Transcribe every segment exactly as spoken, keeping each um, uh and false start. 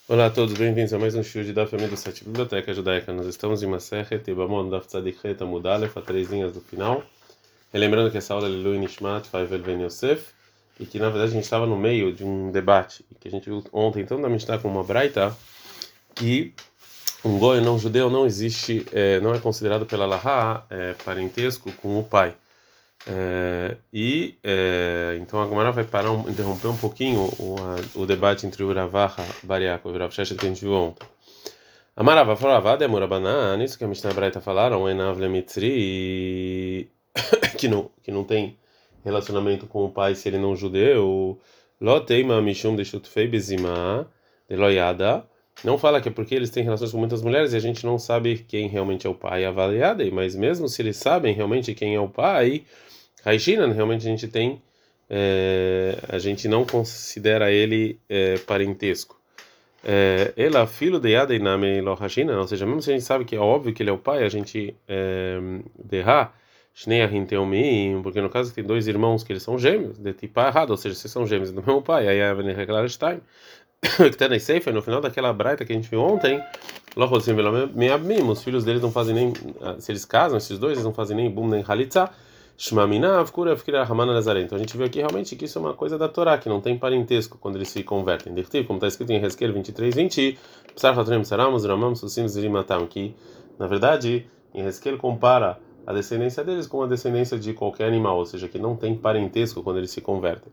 Olá a todos, bem-vindos a mais um show de da família do site Biblioteca Judaica. Nós estamos em Masechet Yevamot Daf Tzadik Het Amud Aleph, a três linhas do final. Relembrando que essa aula é Lilui Nishmat Faivel Ben Yosef e que na verdade a gente estava no meio de um debate que a gente viu ontem, tanto na Mishnah como uma Braita, que um goi não judeu não existe, é, não é considerado pela Laha é, parentesco com o pai. É, e é, então a Gemara vai parar um, interromper um pouquinho o, a, o debate entre o Ravaha Bariaco e o Rav Sheshet que a gente viu ontem. Amarava falava, demora banana, isso que a Mishnah Braita falaram, Enav Lemitri, que não, que não tem relacionamento com o pai se ele não é judeu, Loteima Mishum de Shutfei Bezima, de Loyada, não fala que é porque eles têm relações com muitas mulheres e a gente não sabe quem realmente é o pai avaliado, mas mesmo se eles sabem realmente quem é o pai, Raishina, realmente a gente tem, é, a gente não considera ele é, parentesco. É, ela, filho de Yada Iname Lohashina, ou seja, mesmo se a gente sabe que é óbvio que ele é o pai, a gente derra, Shnei Ahim Teomim, porque no caso tem dois irmãos que eles são gêmeos, de tipo errado, ou seja, se são gêmeos do mesmo pai, aí a Reclar Stein, que está na Seifa, no final daquela braita que a gente viu ontem, Lohosim Meabmim, os filhos deles não fazem nem, se eles casam, esses dois, eles não fazem nem bum nem halitza. Shmaminav Kura Fikra Ramana Nazaré. Então a gente viu aqui realmente que isso é uma coisa da Torá, que não tem parentesco quando eles se convertem. Dertiv, como está escrito em Hezkel vinte e três, vinte, Psar Hatrem Saramos, Ramam Susim Zirimatam, que na verdade em Hezkel compara a descendência deles com a descendência de qualquer animal, ou seja, que não tem parentesco quando eles se convertem.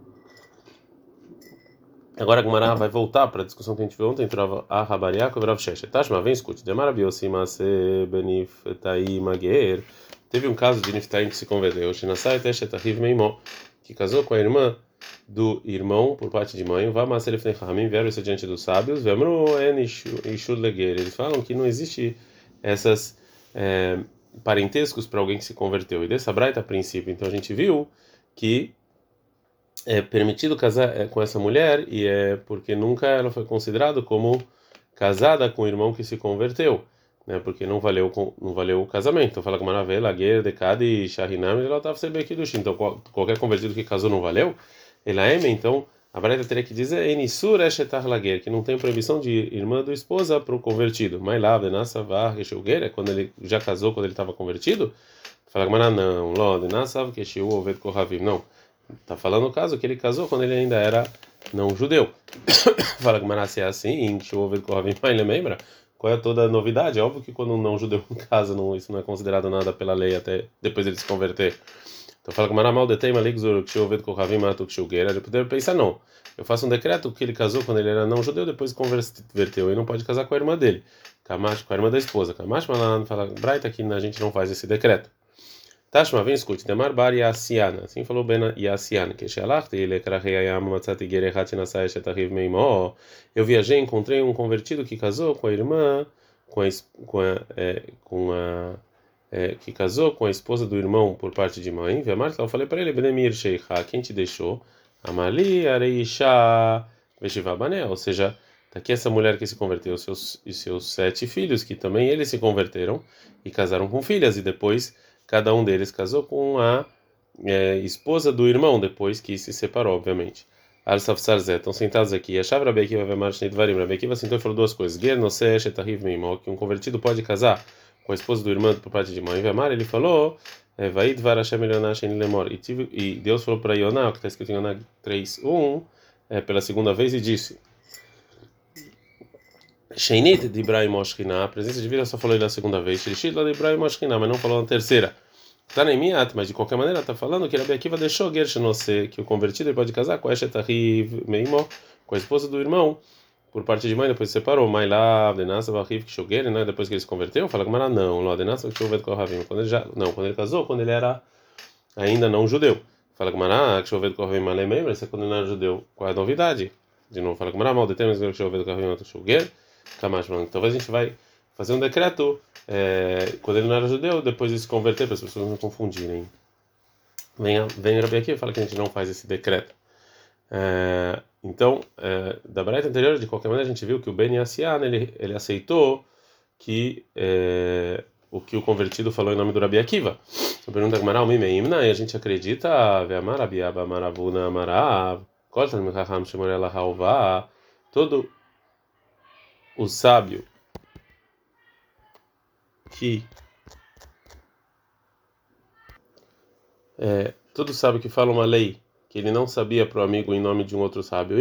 Agora a Gemara vai voltar para a discussão que a gente viu ontem entre a Rabariak e o Rav Sheshet. Tashma, vem, escute. Demara biosima se benif tai mager. Teve um caso de Niftaim que se converteu, Shinasai Teshet Ahiv Meimó, que casou com a irmã do irmão por parte de mãe. Vá Maserif Nechamim, vieram isso diante dos sábios. Vemru en Ishur Leger. Eles falam que não existe essas é, parentescos para alguém que se converteu. E dessa braita, a princípio, então a gente viu que é permitido casar é, com essa mulher e é porque nunca ela foi considerada como casada com o irmão que se converteu, né? Porque não valeu com, não valeu o casamento. Então fala com Maravela, Guer, Decade e Shahinam, ela estava sendo aqui do Então qual- qualquer convertido que casou não valeu. Ela é, então a Braita teria que dizer Enisur eshetar laguer, que não tem proibição de irmã do esposa para o convertido. Mas lá, Denassa var é quando ele já casou, quando ele estava convertido. Fala com não, Ló, Denassa que Oved Kohavim, não. Tá falando o caso que ele casou quando ele ainda era não judeu. Fala que Manasseh é assim, que o Kohavim, ele lembra? Qual é toda a novidade? É óbvio que quando um não judeu casa, não, isso não é considerado nada pela lei até depois ele se converter. Então fala que Maramal detém Maligzur, que o Kohavim matou que Shulgueira. Ele poderia pensar, não. Eu faço um decreto que ele casou quando ele era não judeu, depois se converteu e não pode casar com a irmã dele. Kamash, com a irmã da esposa. Kamash Malan fala, Braita, que a gente não faz esse decreto. Tashma, vem, escute. Demar bar Yassiana. Assim falou Ben Yassiana. Que Shalachti, ele krachei ayam matzati gerechati nasai shetachiv meimo. Eu viajei, encontrei um convertido que casou com a irmã, com a, com a, é, com a é, que casou com a esposa do irmão por parte de mãe. Vemar, eu falei para ele, Benemir Sheikha, quem te deixou? Amali Areisha Veshivabané. Ou seja, daqui essa mulher que se converteu, seus, e seus sete filhos, que também eles se converteram e casaram com filhas, e depois cada um deles casou com a é, esposa do irmão, depois que se separou, obviamente. Al-Safsar Zé, estão sentados aqui. A chave Rabi Akiva vai marchar de varim. Rabi Akiva sentou e falou duas coisas. Ger noseh shetahiv meimo, que um convertido pode casar com a esposa do irmão por parte de mãe. Vemar, ele falou, vai dvar Hashem Elioná shen lemor. E Deus falou para Yoná, o que está escrito em Yoná três, um, é, pela segunda vez, e disse: Sheinit de Ibrahim Oshkina, a presença divina só falou ele a segunda vez. Shrishit lá de Ibrahim Oshkina, mas não falou na terceira. Tá nem miat, mas de qualquer maneira está falando que Rabi Akiva deixou Gershenose, que o convertido ele pode casar com Eshet Ahiv Meimo, com a esposa do irmão, por parte de mãe, depois se separou. Mas lá, Denasa Ahiv Kishoger, né? Depois que ele se converteu, fala que Mara não, lá Denasa Kishovet Kohavim, quando ele já, não, quando ele casou, quando ele era ainda não judeu. Fala que Mara Kishovet Kohavim Malemem, isso é quando ele não era judeu. Qual é a novidade? De novo, fala que Mara mal determina que Kishovet Kohavim Kishoger, Kamashman. Talvez a gente vai fazer um decreto é, quando ele não era judeu, depois de se converter, para as pessoas não confundirem. Vem, vem Rabi aqui e fala que a gente não faz esse decreto. É, então, é, da braita anterior, de qualquer maneira, a gente viu que o Ben Yassian, ele, ele aceitou que é, o que o convertido falou em nome do Rabi Akiva. Então, pergunta que Maral Mimeimna, e a gente acredita, Ve'amar Abiaba Maravuna Marav, Koltan Mechacham Shemorela Hauvá, todo o sábio que é, todo sábio que fala uma lei que ele não sabia para o amigo em nome de um outro sábio,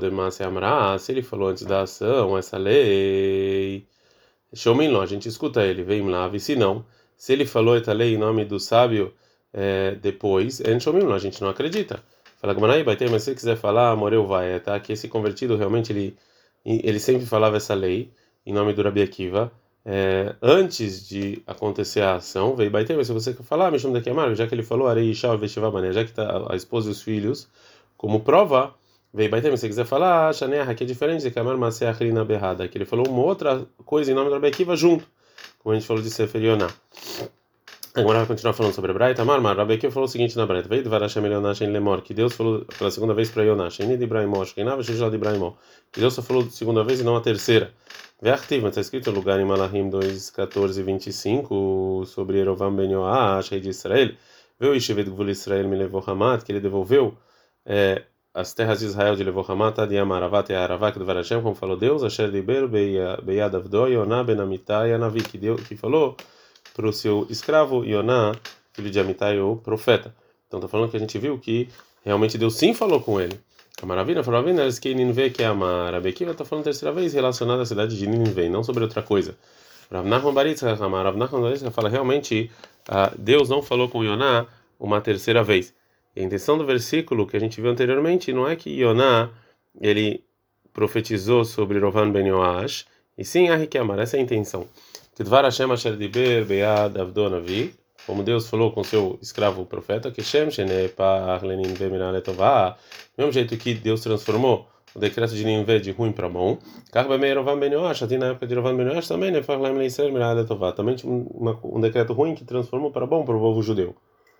se ele falou antes da ação essa lei, Shomim, a gente escuta ele, vem lá, e se não, se ele falou essa lei em nome do sábio é, depois, en Shomim, a gente não acredita. Fala Gmanai, vai ter, mas se ele quiser falar, morreu vai, tá? Que esse convertido realmente ele ele sempre falava essa lei em nome do Rabi Akiva. É, antes de acontecer a ação, veio bater, mas se você falar, me chama daqui a Marco, já que ele falou, Arei Shal Veshiva, já que tá a esposa e os filhos, como prova, veio bater, mas se você quiser falar, Shaneah, que é diferente de Kamar Maseach na Berrada, que ele falou uma outra coisa em nome do Rabi Akiva junto, como a gente falou de Sefer Yonah. Agora vai continuar falando sobre a Braita. Marmar, Rabi Akiva falou o seguinte na Braita: veio de Varashem Yonah Shen Lemor, que Deus falou pela segunda vez para Yonah, Shen de Ibrahimó, Shkenava Shejal de Ibrahimó, que Deus só falou a segunda vez e não a terceira. Ve'achtiv, mas está escrito no lugar em Malachim dois, catorze e vinte e cinco sobre Yerovam ben Yoash, rei de Israel. Veio Ishevet Gvul Israel me levou Hamat, que ele devolveu é, as terras de Israel de levou Hamat, de Amaravat e Aravak do Varashem, como falou Deus, Asher Liber Beyad Avdo Yonah ben Amitai Anavi, que Deus que falou para o seu escravo Yonah, filho de Amitai, o profeta. Então está falando que a gente viu que realmente Deus sim falou com ele. A maravilha falou: eles que Ninve que ama. Rabi Akiva está falando terceira vez relacionada à cidade de Ninve, não sobre outra coisa. Rav Nachman Baritza, Rav Nachman Baritza fala realmente Deus não falou com Yonah uma terceira vez. E a intenção do versículo que a gente viu anteriormente não é que Yonah ele profetizou sobre Rovan ben Yoash, e sim a Riquemar, essa é a intenção. Que Dvar Hashem Asher Diber Beyad Avdo Navi, como Deus falou com seu escravo profeta, que Shem Shenepar Leninve Miná Letová, do mesmo jeito que Deus transformou o decreto de Ninvé de ruim para bom, Karbemei Rovan ben Yoash, até na época de Rovan ben Yoash também, Nefar Lem Leisrael Miná Letová, também tinha um, um decreto ruim que transformou para bom para o povo judeu.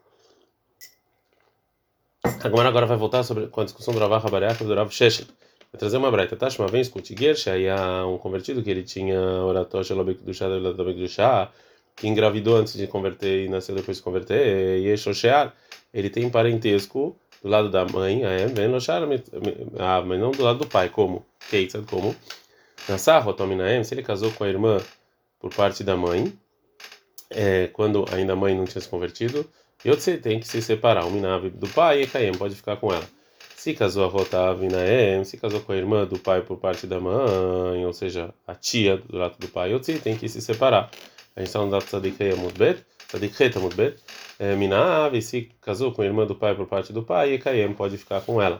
Agora agora vai voltar sobre com a discussão do Rav Habariach do Rav Sheshet. Vai trazer uma braita, tá? Uma vez escute Gersh, aí há um convertido que ele tinha oratória Lobek do chá, Lobek do chá, que engravidou antes de converter e nasceu depois de converter, e Shoshear, ele tem parentesco do lado da mãe, é, bem Loshar, ah, mas não do lado do pai, como? Keitzad, como? Nassar, Rotominaem, se ele casou com a irmã por parte da mãe, é, quando ainda a mãe não tinha se convertido, Yotze tem que se separar, o Minav do pai e Kaem pode ficar com ela. Se casou a Rotav Inaem, se casou com a irmã do pai por parte da mãe, ou seja, a tia do lado do pai, Yotze tem que se separar. A gente está no dado Tzadik Amudbet, Tzadik Het Amudbet, Minav, se casou com a irmã do pai por parte do pai e Kaem pode ficar com ela.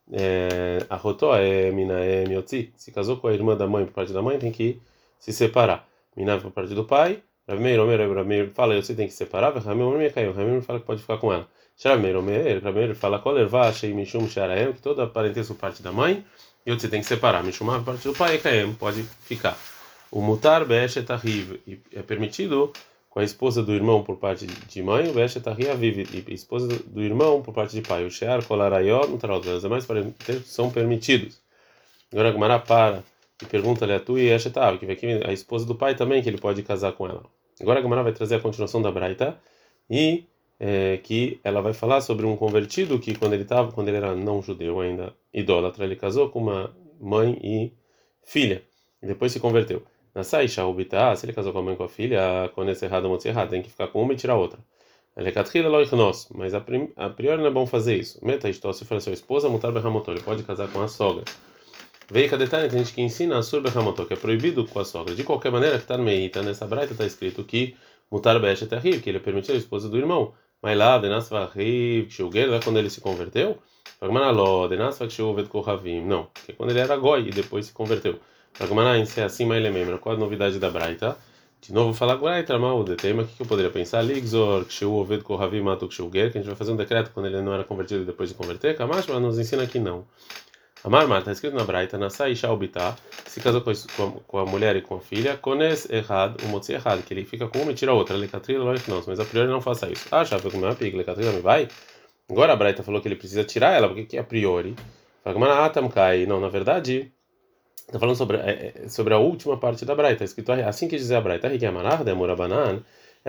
A Rotó é Minaem Yotze, se casou com a irmã da mãe por parte da mãe, tem que se separar. Minav por parte do pai. Rav Meir, Omer, Rav Meir fala, você tem que separar, Rav Meir caiu, Rav Meir fala que pode ficar com ela. Rav Meir, Omer, Rav Meir fala, Kolervá, Shei Mishum, Sharaem, que toda parentesco parte da mãe, e você tem que separar, Mishum, parte do pai, e Kaem, pode ficar. O Mutar, Be'eshet Ahiv, é permitido com a esposa do irmão por parte de mãe, o Be'eshet Ahiv, vive, e esposa do irmão por parte de pai, o Shear, Kolarayot, Mutarot, os demais parentescos são permitidos. Agora a Gemara para e pergunta-lhe a tu e Eshet Ahiv, que vem aqui a esposa do pai também, que ele pode casar com ela. Agora a Gemara vai trazer a continuação da Braita e é, que ela vai falar sobre um convertido que quando ele estava, quando ele era não judeu ainda, idólatra, ele casou com uma mãe e filha e depois se converteu. Nasai Shaubita, se ele casou com a mãe e com a filha, quando esse errado é errado, tem que ficar com uma e tirar a outra. Ele é catrila loichnos, mas a, prim, a priori não é bom fazer isso. Meta isto, se for a sua esposa, mutar berramotor, ele pode casar com a sogra. Veio cada detalhe, tem gente que ensina a sur berramotor, que é proibido com a sogra. De qualquer maneira, que está no meita, nessa braita está escrito que mutar be'eshet ahiv, que ele permitiu a esposa do irmão. Mas lá, denasva ahiv, kshuger, quando ele se converteu, Pagmanaló, denasva kshuvet kohavim, não, que é quando ele era goi e depois se converteu. Pagmaná, em ser assim, mas ele lembra. Qual a novidade da braita? De novo, falar braita, mal o tema, o que eu poderia pensar? Ligzor, kshuvet kohavim, matu kshuger, que a gente vai fazer um decreto quando ele não era convertido e depois de converter. Kamash, mas nos ensina que não. Amar Mar, está escrito na Braita, Nasai Shaubita, se casou com a, com a mulher e com a filha, Kones errado, o motzi errado, que ele fica com uma e tira a outra, Lecatrila, não, mas a priori não faça isso. Ah, já foi com uma pica, Lecatrila me vai? Agora a Braita falou que ele precisa tirar ela, porque que a priori? Fagmanatamkai, não, na verdade, está falando sobre, é, sobre a última parte da Braita, está escrito assim que dizer a Braita, Rikiamanar, Demora Banan,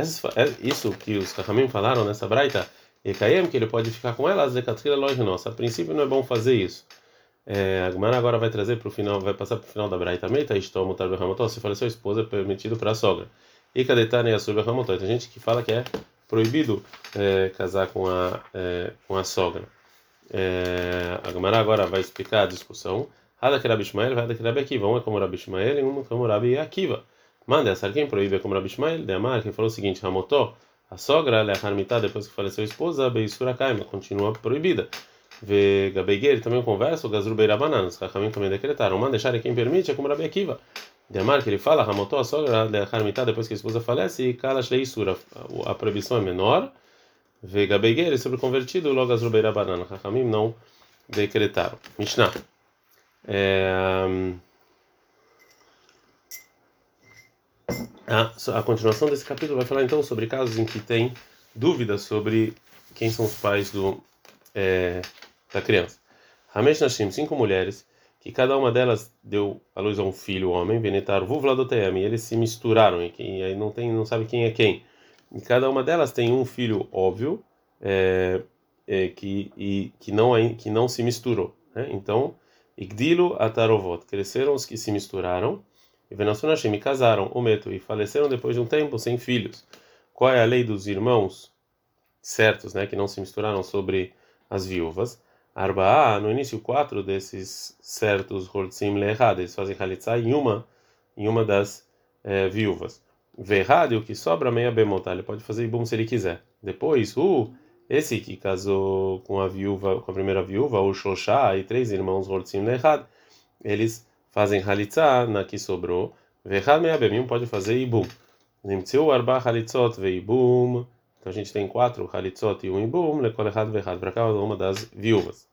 isso que os Kachamim falaram nessa Braita, e Kaem, que ele pode ficar com ela, Lecatrila, nossa, a princípio não é bom fazer isso. É, a Gemara agora vai trazer para o final, vai passar para o final da Braita. Meita istomo tarbe ramotó. Se faleceu a esposa, é permitido para a sogra. E cadetane asur ramotó. Tem gente que fala que é proibido é, casar com a é, com a sogra. É, a Gemara agora vai explicar a discussão. Hada que Rabi Ishmael, Hada que Rabi Akiva. Um é como Rabi Ishmael e um é como Rabi Akiva. Manda essa quem proíbe é como Rabi Ishmael. De Amar, que falou o seguinte: ramotó, a sogra, lehar mitá, depois que faleceu a esposa, beisura kaima, continua proibida. Vê Gabeguer também conversa, o Gazru Beirabanan, os Chachamim também decretaram, manda deixar quem permite é como Rabi Akiva. Demar que ele fala, Ramotó, a sogra, Harmitá, depois que a esposa falece, e Kalash Leisura, a proibição é menor. Vê Gabeguer sobre o convertido, logo Gazru Beirabanan, Chachamim não decretaram. Mishnah. É, a, a continuação desse capítulo vai falar então sobre casos em que tem dúvidas sobre quem são os pais do. É, da criança. Hamesh Nashim, cinco mulheres, que cada uma delas deu à luz a um filho, homem, Venetar Vuvladotayam, e eles se misturaram, e, e aí não tem, não sabe quem é quem. E cada uma delas tem um filho óbvio, é, é, que, e, que, não, que não se misturou. Né? Então, Igdilo Atarovot, cresceram os que se misturaram, e Venassu Nashim, casaram, o meto, e faleceram depois de um tempo sem filhos. Qual é a lei dos irmãos certos, né, que não se misturaram sobre as viúvas? Arba'a, no início quatro desses certos Hortzim Lehad, eles fazem Halitzá em uma, em uma das é, viúvas. Verrad, o que sobra meia bemotá, ele pode fazer Ibum se ele quiser. Depois, o esse que casou com a viúva, com a primeira viúva, o Shoshá e três irmãos Hortzim Lehad, eles fazem Halitzá na que sobrou. Verrad meia bemim pode fazer Ibum. Nimtzeu arba Halitzot ve Ibum. Então a gente tem quatro halitzot e um ibum, lekol echad ve'echad, para cada uma das viúvas.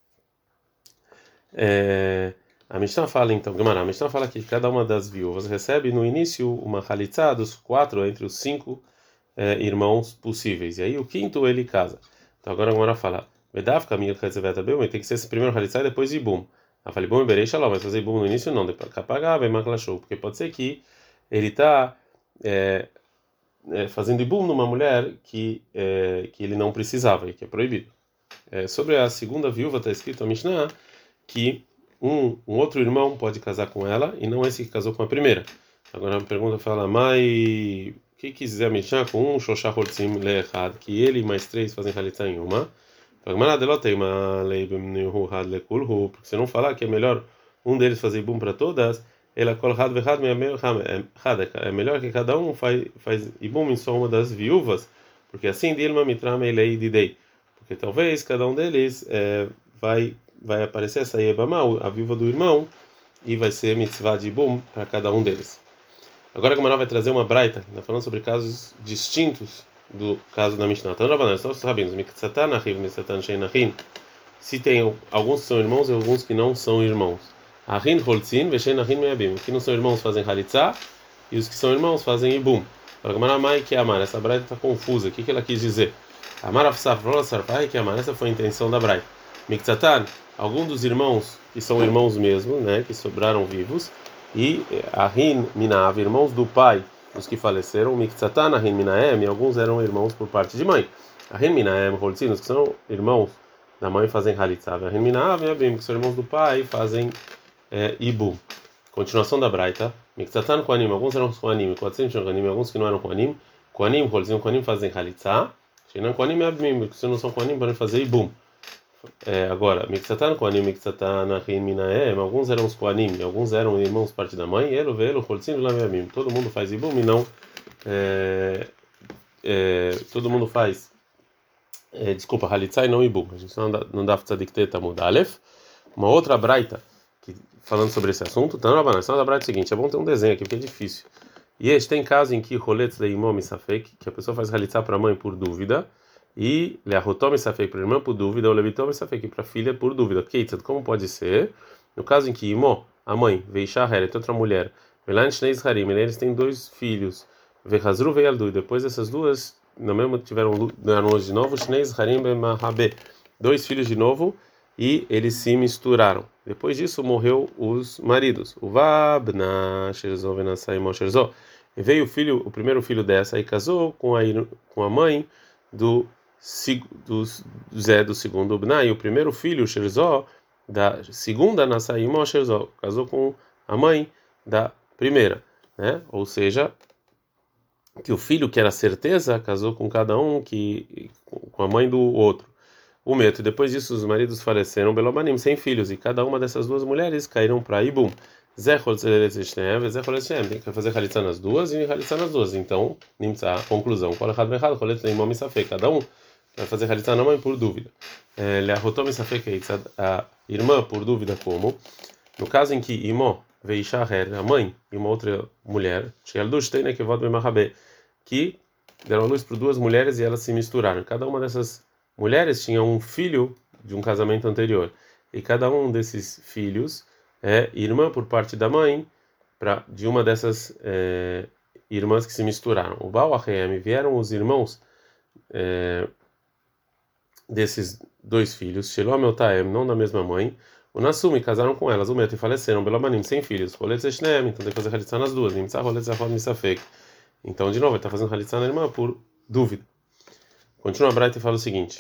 É, a Mishnah fala então, Gemara, a Mishnah fala que cada uma das viúvas recebe no início uma halitzá dos quatro entre os cinco é, irmãos possíveis. E aí o quinto ele casa. Então agora a Gemara fala, Vedav kamil chetzevet abel, tem que ser esse primeiro halitzá e depois ibum. A fala ibum e berei shalom, mas fazer ibum no início não, depois kapagar vem maklashou, porque pode ser que ele está é, É, fazendo ibum numa mulher que é, que ele não precisava e que é proibido. É, sobre a segunda viúva está escrito a Mishnah que um, um outro irmão pode casar com ela e não esse que casou com a primeira. Agora a pergunta fala, mas o que quis dizer a Mishnah com um shoshá hortzim le'echad, que ele e mais três fazem halitzá em uma? Porque se não falar que é melhor um deles fazer ibum para todas, ela colhad vehad é melhor que cada um faz faz ibum em só uma das viúvas, porque assim dilma mitrama elei didei, porque talvez cada um deles é, vai vai aparecer essa yebama, a viúva do irmão, e vai ser mitzvah de ibum para cada um deles. Agora a Gemara vai trazer uma braita, tá falando sobre casos distintos do caso da Mishnah. Então, Rabanan, são os rabinos, Miktsatan Achiv, Miktsatan Sheinachin, se tem alguns que são irmãos e alguns que não são irmãos. Ahin Holtzin, Vesheinachin Meabim, os que não são irmãos fazem Halitzá e os que são irmãos fazem Ibum. Agora, Gemara Mai que Amar, essa braita está confusa, o que, que ela quis dizer? Amar Afsafrola Sarpai que Amar, essa foi a intenção da braita. Miktsatan, alguns dos irmãos que são irmãos mesmo, né, que sobraram vivos, e Ahin Minav, irmãos do pai, os que faleceram, Miktsatan, Ahin Minaem, alguns eram irmãos por parte de mãe. Ahin Minaem, Holtzin, os que são irmãos da mãe fazem Halitzá. Ahin Minav, Meabim, que são irmãos do pai, fazem é, Ibu. Continuação da Braita. Miktsatan Koanim, alguns eram Koanim, quatrocentos Koanim, alguns que não eram Koanim. Koanim, Holtzin, Koanim fazem Halitzá. Sheinan Koanim, Meabim, que se não são Koanim, podem fazer Ibum. É, agora, Miktsatan Koanim, Miktsatan Ahin Minaem, alguns eram os Koanim, alguns eram irmãos parte da mãe, Elo, Velo, Holtzin, Lamemim. Todo mundo faz Ibum e não. É, é, todo mundo faz. É, desculpa, Halitzá e não Ibum. A gente não dá, não dá Tzadik Tamud Aleph. Uma outra Braita, que, falando sobre esse assunto, então, a da Braita é o seguinte: é bom ter um desenho aqui, porque é difícil. E este tem caso em que Roletz de Imom e Safek, que a pessoa faz Halitzá para a mãe por dúvida. E Leahotom e Safek para a irmã por dúvida, ou Levitom e Safek para a filha por dúvida. Keitzad, como pode ser? No caso em que Imó, a mãe, Veishá Heret, outra mulher, Velan Shnei Zharim, eles têm dois filhos, Vehazru Veyaldu, e depois essas duas, no mesmo tiveram deram de novo, Shnei Zharim Bemahabé, dois filhos de novo, e eles se misturaram. Depois disso morreu os maridos. O Vabna Sherzó Venasai Mo Sherzó. E veio o filho, o primeiro filho dessa e casou com a com a mãe do do Zé do segundo Bnai, o primeiro filho, Sherzó, da segunda Nasaí Moshe Zó, casou com a mãe da primeira, né? Ou seja, que o filho que era certeza casou com cada um que com a mãe do outro. O meto. Depois disso, os maridos faleceram, Belobanim, sem filhos, e cada uma dessas duas mulheres caíram para Ibum. Zechol Tzedeteshtev, Zechol Eshem, tem que fazer Halitzá nas duas e Halitzá nas duas. Então, Nimtzá, conclusão. Qual errado, errado, Cholet Leimom Misafek. Cada um vai fazer Halitzá na mãe por dúvida. Leahotom Misafek, a irmã por dúvida como? No caso em que Imó Veisha Her, a mãe e uma outra mulher, Shealdush Teine Kevod Bemahabé, que deram a luz por duas mulheres e elas se misturaram. Cada uma dessas mulheres tinha um filho de um casamento anterior, e cada um desses filhos é irmã por parte da mãe pra, de uma dessas é, irmãs que se misturaram. O Baal Ahem, vieram os irmãos é, desses dois filhos, Shelom e Taem, não da mesma mãe, o Nassumi, casaram com elas, o Meto, e faleceram, Belomanim, sem filhos, Roletz Eshnem, então tem que fazer Halitzá nas duas, Nimtzá, Roletz Achod Misafek. Então, de novo, ele está fazendo Halitzá na irmã por dúvida. Continua a Braita e fala o seguinte: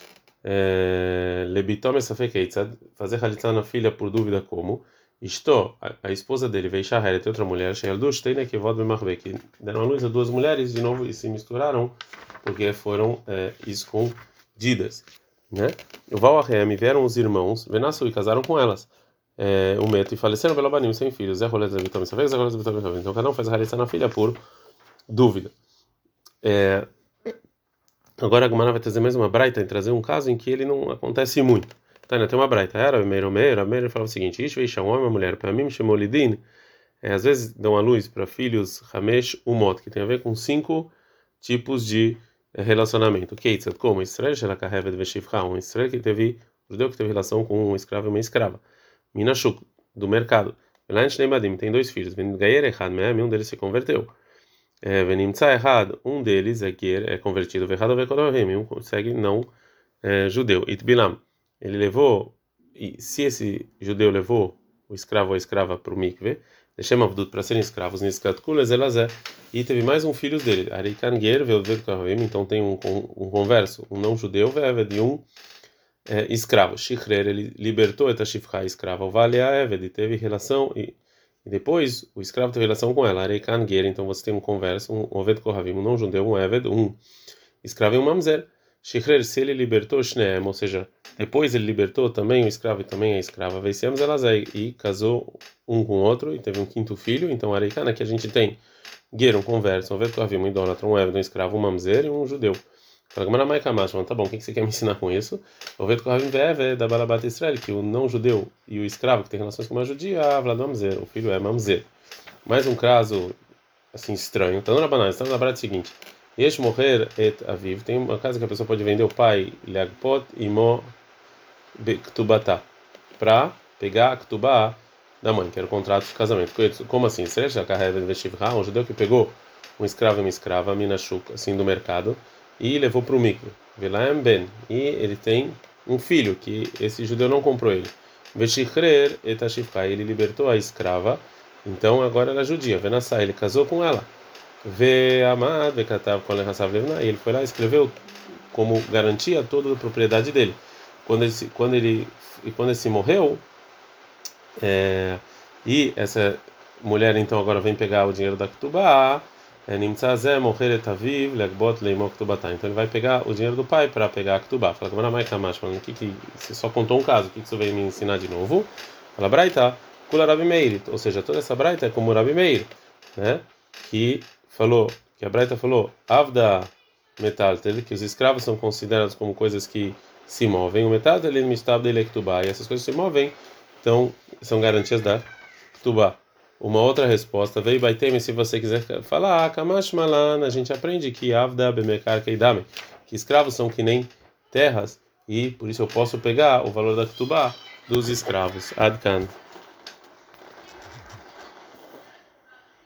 Lebitom Esafekeitzad, fazer Halitzá na filha por dúvida como? Isto, a, a esposa dele, veio Shaheret, outra mulher, Shealdush, Teine Kevod Bemachbe, que deram a luz a duas mulheres de novo e se misturaram porque foram é, escondidas. Né? O Valahem, vieram os irmãos, Venassu, e casaram com elas. É, o Meto, e faleceram Belobanim, sem filhos. Zé Rolet Lebitom Esafek, Zé Rolet Lebitom Esafek. Então cada um faz a Halitzá na filha por dúvida. É, agora a Gemara vai trazer mais uma braita, e trazer um caso em que ele não acontece muito. Tá, né? Tem uma braita. Era meiro meiro, meiro falava o seguinte: Ish veisha um homem e uma mulher, para mim chamou lidin. É, às vezes dão a luz para filhos Hamesh Umot, que tem a ver com cinco tipos de é, relacionamento. Keitzad, como Israel, Shelakahevet Veshivcha, um Israel que teve, judeu que teve relação com um escravo e uma escrava. Minashuk, do mercado. Elain Shneimadim, tem dois filhos. Gayer Echad Me'am, um deles se converteu. Venimtza errado, um deles é que é convertido, errado um consegue não é, judeu. Itbilam, ele levou, e se esse judeu levou o escravo ou a escrava para o mikve, deixamos avdut para serem escravos, e teve mais um filho dele, Arikan Ger, então tem um, um, um converso, um não judeu, de um é, escravo. Shichrer, ele libertou a Shifra, escrava, o Vale Eved, teve relação e E depois, o escravo teve relação com ela, Areikan Ger, então você tem um converso, um Oved Kohavim, um não-judeu, um Eved, um escravo e um Mamzer. Shichrer, se ele libertou Shneem, ou seja, depois ele libertou também o escravo e também a escrava, Veisem Zelazai, e casou um com o outro, e teve um quinto filho, então Areikan, aqui a gente tem Ger, um converso, um Oved Kohavim, um idólatra, um Eved, um escravo, um Mamzer e um judeu. Fala, tá bom, o que você quer me ensinar com isso? O Oved Kohavim Veve da Balabat Israel, que o não-judeu e o escravo que tem relações com uma judia, Avlad Mamzer, o filho é Mamzer. Mais um caso assim estranho. Então, na banana, estamos na Braita seguinte: Yesh morrer et aviv. Tem uma casa que a pessoa pode vender o pai, Leagpot e Mo Ktubata, para pegar a Ktubá da mãe, que era o contrato de casamento. Como assim? Seja a um judeu que pegou um escravo e uma escrava, Minashuk, assim do mercado, e levou para o mikve. Velaem ben, e ele tem um filho que esse judeu não comprou ele. Veshichrer et ashifra, ele libertou a escrava, então agora ela é judia. Venassai, ele casou com ela. Ve'amad ve'katav kol nechasav levna, e ele foi lá e escreveu como garantia toda a propriedade dele. Quando ele quando ele e quando ele se morreu, é, e essa mulher então agora vem pegar o dinheiro da Ktubá. Então ele vai pegar o dinheiro do pai para pegar a Ktubá. Fala, o que que você só contou um caso? O que que você veio me ensinar de novo? Fala, Braita, Kula Rabi Meir. Ou seja, toda essa Braita é como Rabi Meir, né? Que falou, que a Braita falou, Avda Metaltel, que os escravos são considerados como coisas que se movem. O Metaltel ele mistab dele Ktubá, e essas coisas se movem, então são garantias da Ktubá. Uma outra resposta veio Baitem, se você quiser falar, Kamash Malan, a gente aprende que Avda Bemekar Keidame, que escravos são que nem terras, e por isso eu posso pegar o valor da Ktubá dos escravos. Adkan.